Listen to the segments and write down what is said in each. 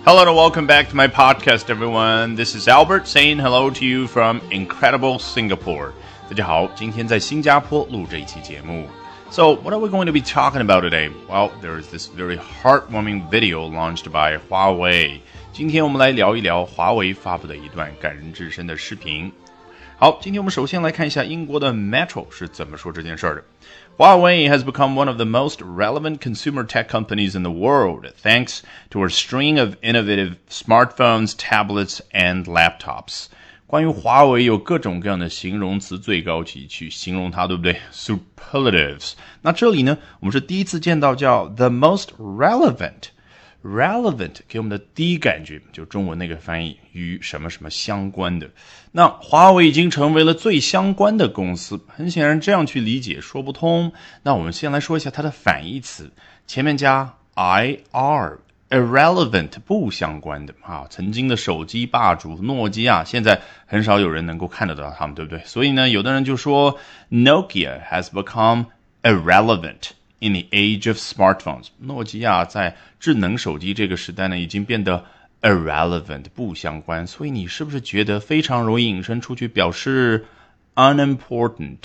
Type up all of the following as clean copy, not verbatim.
Hello and welcome back to my podcast, everyone. This is Albert saying hello to you from incredible Singapore. 大家好，今天在新加坡录这一期节目。So, what are we going to be talking about today? Well, there is this very heartwarming video launched by Huawei. 今天我们来聊一聊华为发布的一段感人至深的视频。好，今天我们首先来看一下英国的 Metro 是怎么说这件事的。Huawei has become one of the most relevant consumer tech companies in the world, thanks to a string of innovative smartphones, tablets, and laptops. 关于华为有各种各样的形容词最高级去形容它，对不对？ Superlatives. 那这里呢，我们是第一次见到叫 the most relevant.Relevant 给我们的第一感觉就中文那个翻译与什么什么相关的，那华为已经成为了最相关的公司，很显然这样去理解说不通。那我们先来说一下它的反义词，前面加 IR irrelevant 不相关的曾经的手机霸主诺基亚现在很少有人能够看得到他们，对不对？所以呢，有的人就说 Nokia has become irrelevant.In the age of smartphones, 诺基亚在智能手机这个时代呢，已经变得 irrelevant 不相关，所以你是不是觉得非常容易引申出去表示 unimportant,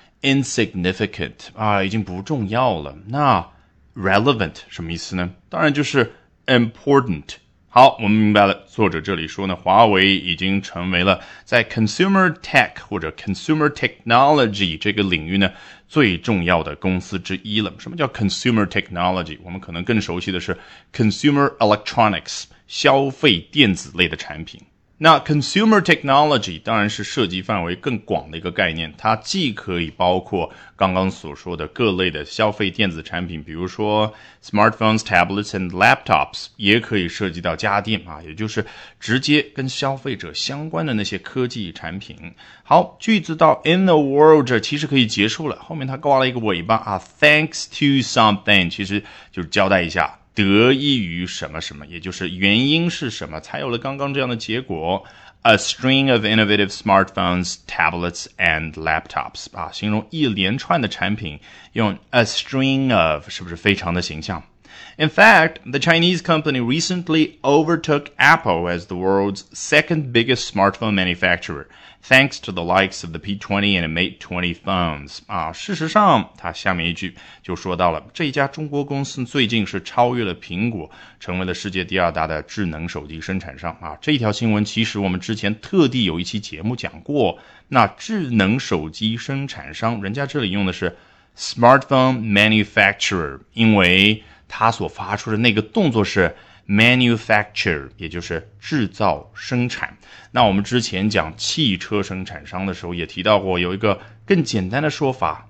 insignificant 已经不重要了？那 relevant 什么意思呢？当然就是 important。好，我们明白了。作者这里说呢，华为已经成为了在 consumer tech 或者 consumer technology 这个领域呢最重要的公司之一了。什么叫 consumer technology？ 我们可能更熟悉的是 consumer electronics 消费电子类的产品。那 consumer technology 当然是涉及范围更广的一个概念，它既可以包括刚刚所说的各类的消费电子产品，比如说 smartphones, tablets and laptops， 也可以涉及到家电也就是直接跟消费者相关的那些科技产品。好，句子到 in the world 这其实可以结束了，后面它挂了一个尾巴thanks to something 其实就是交代一下得益于什么什么，也就是原因是什么才有了刚刚这样的结果。A string of innovative smartphones, tablets, and laptops 形容一连串的产品，用 a string of 是不是非常的形象？ In fact, the Chinese company recently overtook Apple as the world's second biggest smartphone manufacturer, thanks to the likes of the P20 and Mate 20 phones. 事实上，它下面一句就说到了，这一家中国公司最近是超越了苹果，成为了世界第二大的智能手机生产商。这一条新闻其实我们之前特地有一期节目讲过，那智能手机生产商，人家这里用的是 smartphone manufacturer， 因为他所发出的那个动作是 manufacture， 也就是制造生产。那我们之前讲汽车生产商的时候也提到过，有一个更简单的说法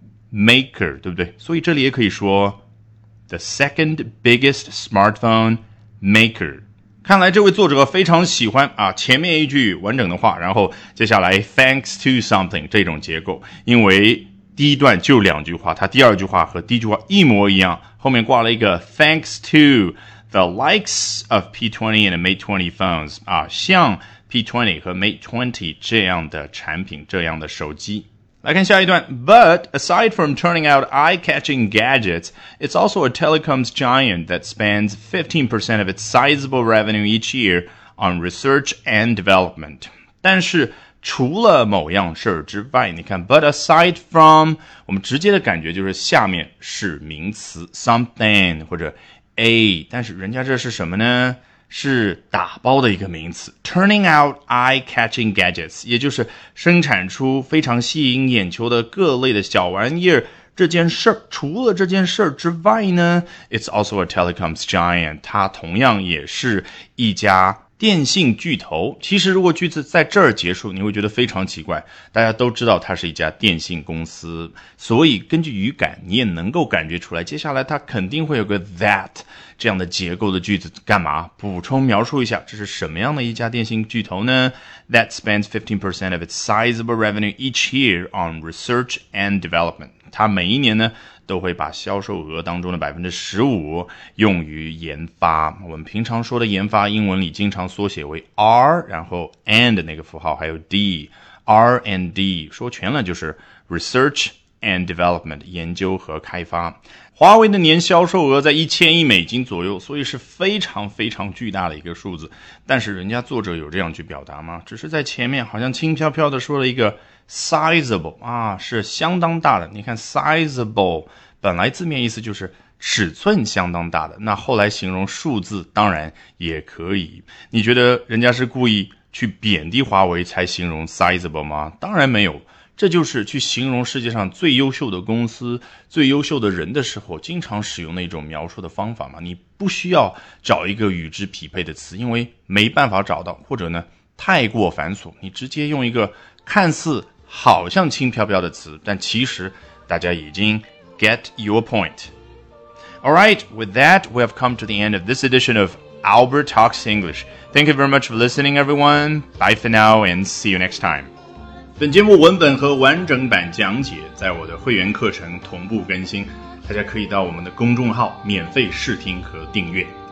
maker， 对不对？所以这里也可以说 the second biggest smartphone maker。 看来这位作者非常喜欢前面一句完整的话，然后接下来 thanks to something 这种结构，因为第一段就两句话，它第二句话和第一句话一模一样，后面挂了一个 thanks to the likes of P20 and Mate 20 phones 像 P20 和 Mate 20这样的产品，这样的手机。来看下一段 But aside from turning out eye-catching gadgets, it's also a telecoms giant that spends 15% of its sizable revenue each year on research and development. 但是除了某样事儿之外，你看 but aside from 我们直接的感觉就是下面是名词 something 或者 a， 但是人家这是什么呢？是打包的一个名词 turning out eye-catching gadgets， 也就是生产出非常吸引眼球的各类的小玩意儿。这件事儿除了这件事儿之外呢 it's also a telecoms giant， 它同样也是一家电信巨头。其实如果句子在这儿结束，你会觉得非常奇怪，大家都知道它是一家电信公司，所以根据语感你也能够感觉出来，接下来它肯定会有个 that 这样的结构的句子，干嘛？补充描述一下这是什么样的一家电信巨头呢？ That spends 15% of its sizable revenue each year on research and development。 它每一年呢都会把销售额当中的 15% 用于研发。我们平常说的研发，英文里经常缩写为 R， 然后 and 那个符号还有 D， R and D 说全了就是 research and Development 研究和开发。华为的年销售额在1000亿美金左右，所以是非常非常巨大的一个数字。但是人家作者有这样去表达吗？只是在前面好像轻飘飘的说了一个 sizable 啊，是相当大的。你看 sizable 本来字面意思就是尺寸相当大的，那后来形容数字当然也可以。你觉得人家是故意去贬低华为才形容 sizable 吗？当然没有，这就是去形容世界上最优秀的公司、最优秀的人的时候经常使用的一种描述的方法嘛。你不需要找一个与之匹配的词，因为没办法找到，或者呢太过繁琐，你直接用一个看似好像轻飘飘的词，但其实大家已经 get your point。Alright, with that, we have come to the end of this edition of Albert Talks English. Thank you very much for listening, everyone. Bye for now and see you next time. 本节目文本和完整版讲解在我的会员课程同步更新，大家可以到我们的公众号免费试听和订阅。